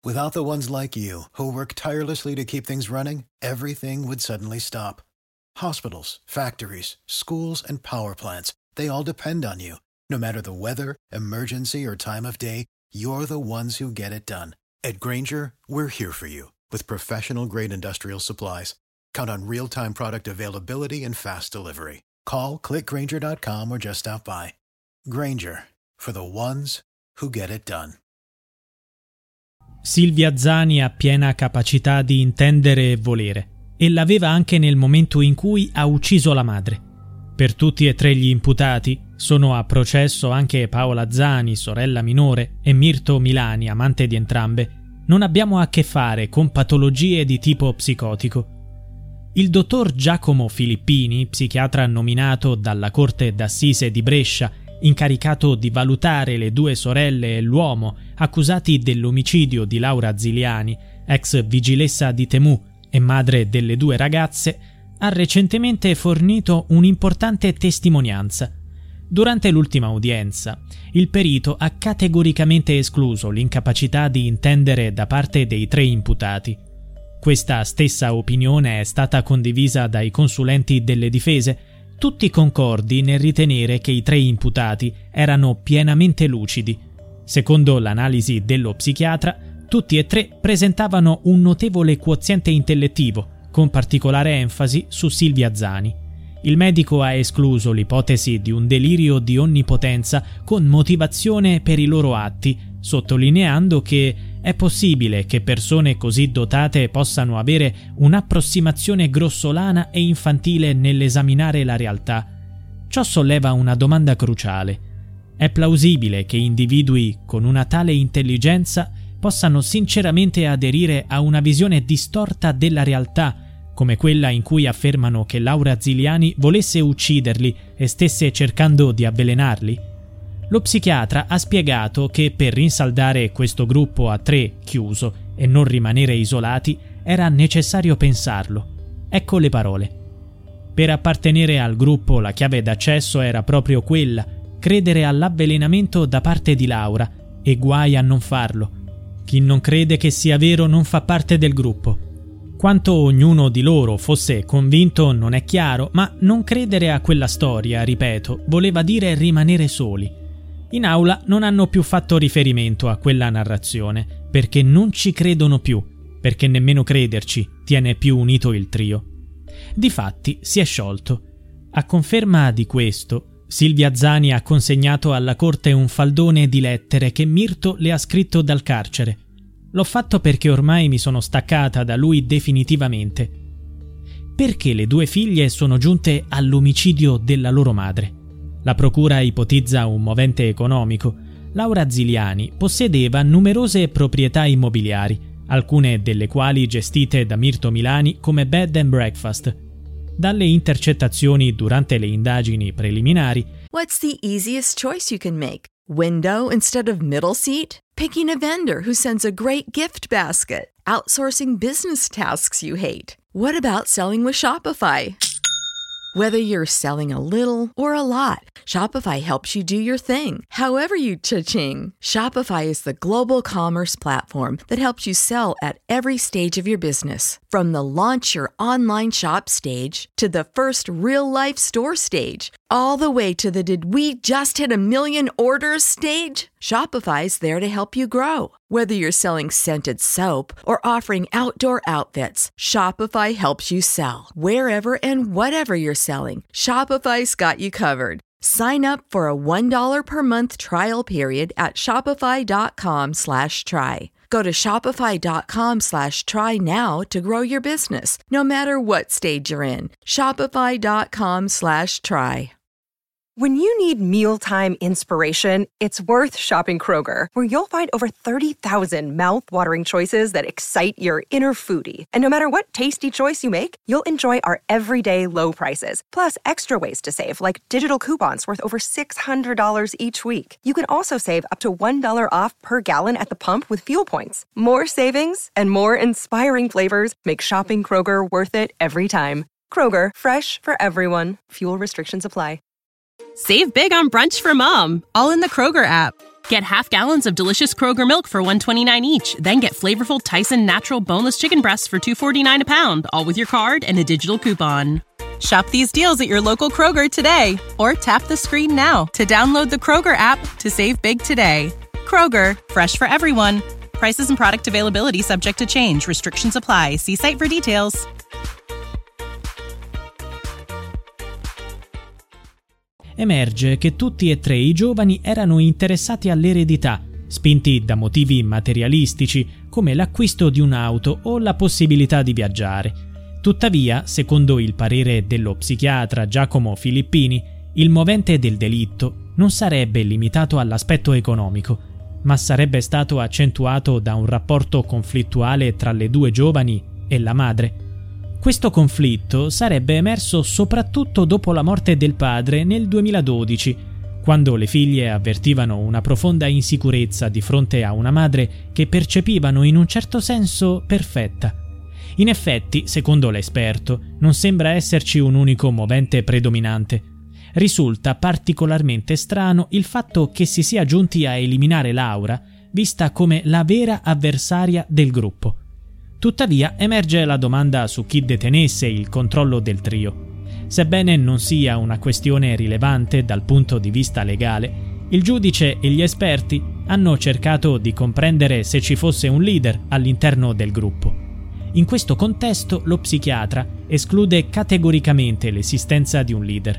Without the ones like you, who work tirelessly to keep things running, everything would suddenly stop. Hospitals, factories, schools, and power plants, they all depend on you. No matter the weather, emergency, or time of day, you're the ones who get it done. At Grainger, we're here for you with professional-grade industrial supplies. Count on real-time product availability and fast delivery. Call, click Grainger.com or just stop by. Grainger, for the ones who get it done. Silvia Zani ha piena capacità di intendere e volere, e l'aveva anche nel momento in cui ha ucciso la madre. Per tutti e tre gli imputati sono a processo anche Paola Zani, sorella minore, e Mirto Milani, amante di entrambe. Non abbiamo a che fare con patologie di tipo psicotico. Il dottor Giacomo Filippini, psichiatra nominato dalla Corte d'Assise di Brescia, incaricato di valutare le due sorelle e l'uomo accusati dell'omicidio di Laura Ziliani, ex vigilessa di Temu e madre delle due ragazze, ha recentemente fornito un'importante testimonianza. Durante l'ultima udienza, il perito ha categoricamente escluso l'incapacità di intendere da parte dei tre imputati. Questa stessa opinione è stata condivisa dai consulenti delle difese, tutti concordi nel ritenere che i tre imputati erano pienamente lucidi. Secondo l'analisi dello psichiatra, tutti e tre presentavano un notevole quoziente intellettivo, con particolare enfasi su Silvia Zani. Il medico ha escluso l'ipotesi di un delirio di onnipotenza con motivazione per i loro atti, sottolineando che è possibile che persone così dotate possano avere un'approssimazione grossolana e infantile nell'esaminare la realtà. Ciò solleva una domanda cruciale. È plausibile che individui con una tale intelligenza possano sinceramente aderire a una visione distorta della realtà, come quella in cui affermano che Laura Ziliani volesse ucciderli e stesse cercando di avvelenarli? Lo psichiatra ha spiegato che per rinsaldare questo gruppo a tre chiuso e non rimanere isolati era necessario pensarlo. Ecco le parole. Per appartenere al gruppo la chiave d'accesso era proprio quella, credere all'avvelenamento da parte di Laura, e guai a non farlo. Chi non crede che sia vero non fa parte del gruppo. Quanto ognuno di loro fosse convinto non è chiaro, ma non credere a quella storia, ripeto, voleva dire rimanere soli. In aula non hanno più fatto riferimento a quella narrazione, perché non ci credono più, perché nemmeno crederci tiene più unito il trio. Difatti si è sciolto. A conferma di questo, Silvia Zani ha consegnato alla corte un faldone di lettere che Mirto le ha scritto dal carcere. L'ho fatto perché ormai mi sono staccata da lui definitivamente. Perché le due figlie sono giunte all'omicidio della loro madre. La procura ipotizza un movente economico. Laura Ziliani possedeva numerose proprietà immobiliari, alcune delle quali gestite da Mirto Milani come bed and breakfast. Dalle intercettazioni durante le indagini preliminari. What's the easiest choice you can make? Window instead of middle seat? Picking a vendor who sends a great gift basket? Outsourcing business tasks you hate? What about selling with Shopify? Whether you're selling a little or a lot, Shopify helps you do your thing, however you cha-ching. Shopify is the global commerce platform that helps you sell at every stage of your business. From the launch your online shop stage to the first real-life store stage, all the way to the did we just hit a million orders stage. Shopify's there to help you grow. Whether you're selling scented soap or offering outdoor outfits, Shopify helps you sell. Wherever and whatever you're selling, Shopify's got you covered. Sign up for a $1 per month trial period at shopify.com/try. Go to shopify.com/try now to grow your business, no matter what stage you're in. Shopify.com/try. When you need mealtime inspiration, it's worth shopping Kroger, where you'll find over 30,000 mouth-watering choices that excite your inner foodie. And no matter what tasty choice you make, you'll enjoy our everyday low prices, plus extra ways to save, like digital coupons worth over $600 each week. You can also save up to $1 off per gallon at the pump with fuel points. More savings and more inspiring flavors make shopping Kroger worth it every time. Kroger, fresh for everyone. Fuel restrictions apply. Save big on brunch for mom, all in the Kroger app. Get half gallons of delicious Kroger milk for $1.29 each. Then get flavorful Tyson natural boneless chicken breasts for $2.49 a pound, all with your card and a digital coupon. Shop these deals at your local Kroger today, or tap the screen now to download the Kroger app to save big today. Kroger, fresh for everyone. Prices and product availability subject to change. Restrictions apply. See site for details. Emerge che tutti e tre i giovani erano interessati all'eredità, spinti da motivi materialistici come l'acquisto di un'auto o la possibilità di viaggiare. Tuttavia, secondo il parere dello psichiatra Giacomo Filippini, il movente del delitto non sarebbe limitato all'aspetto economico, ma sarebbe stato accentuato da un rapporto conflittuale tra le due giovani e la madre. Questo conflitto sarebbe emerso soprattutto dopo la morte del padre nel 2012, quando le figlie avvertivano una profonda insicurezza di fronte a una madre che percepivano in un certo senso perfetta. In effetti, secondo l'esperto, non sembra esserci un unico movente predominante. Risulta particolarmente strano il fatto che si sia giunti a eliminare Laura, vista come la vera avversaria del gruppo. Tuttavia emerge la domanda su chi detenesse il controllo del trio. Sebbene non sia una questione rilevante dal punto di vista legale, il giudice e gli esperti hanno cercato di comprendere se ci fosse un leader all'interno del gruppo. In questo contesto lo psichiatra esclude categoricamente l'esistenza di un leader.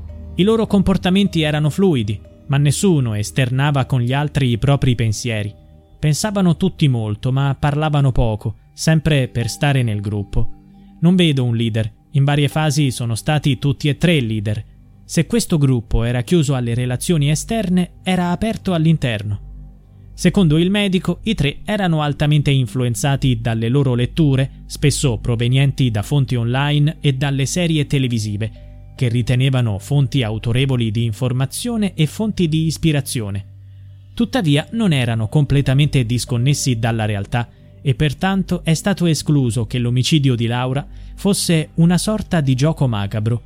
I loro comportamenti erano fluidi, ma nessuno esternava con gli altri i propri pensieri. Pensavano tutti molto, ma parlavano poco, sempre per stare nel gruppo. Non vedo un leader, in varie fasi sono stati tutti e tre leader. Se questo gruppo era chiuso alle relazioni esterne, era aperto all'interno. Secondo il medico, i tre erano altamente influenzati dalle loro letture, spesso provenienti da fonti online e dalle serie televisive, che ritenevano fonti autorevoli di informazione e fonti di ispirazione. Tuttavia non erano completamente disconnessi dalla realtà e pertanto è stato escluso che l'omicidio di Laura fosse una sorta di gioco macabro.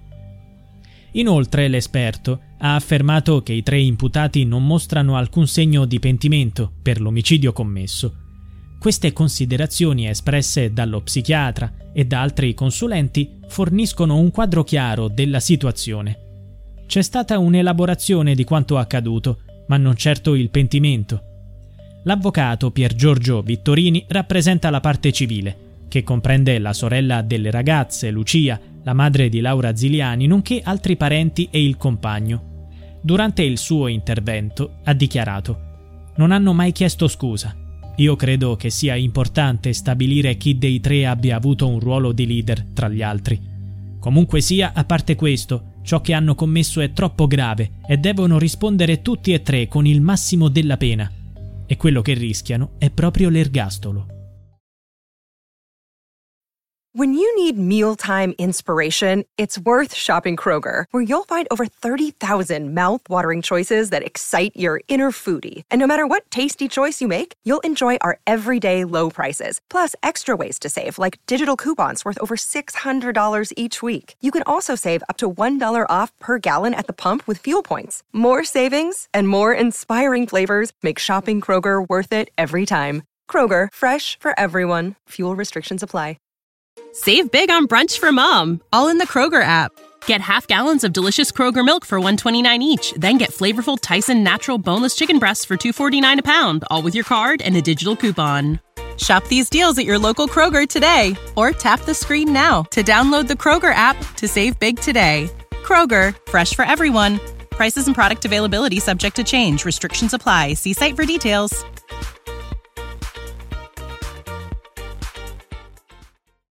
Inoltre l'esperto ha affermato che i tre imputati non mostrano alcun segno di pentimento per l'omicidio commesso. Queste considerazioni espresse dallo psichiatra e da altri consulenti forniscono un quadro chiaro della situazione. C'è stata un'elaborazione di quanto accaduto, ma non certo il pentimento. L'avvocato Pier Giorgio Vittorini rappresenta la parte civile, che comprende la sorella delle ragazze, Lucia, la madre di Laura Ziliani, nonché altri parenti e il compagno. Durante il suo intervento ha dichiarato: «Non hanno mai chiesto scusa. Io credo che sia importante stabilire chi dei tre abbia avuto un ruolo di leader tra gli altri. Comunque sia, a parte questo, ciò che hanno commesso è troppo grave e devono rispondere tutti e tre con il massimo della pena. E quello che rischiano è proprio l'ergastolo». When you need mealtime inspiration, it's worth shopping Kroger, where you'll find over 30,000 mouth-watering choices that excite your inner foodie. And no matter what tasty choice you make, you'll enjoy our everyday low prices, plus extra ways to save, like digital coupons worth over $600 each week. You can also save up to $1 off per gallon at the pump with fuel points. More savings and more inspiring flavors make shopping Kroger worth it every time. Kroger, fresh for everyone. Fuel restrictions apply. Save big on brunch for mom, all in the Kroger app. Get half gallons of delicious Kroger milk for $1.29 each. Then get flavorful Tyson natural boneless chicken breasts for $2.49 a pound, all with your card and a digital coupon. Shop these deals at your local Kroger today, or tap the screen now to download the Kroger app to save big today. Kroger, fresh for everyone. Prices and product availability subject to change. Restrictions apply. See site for details.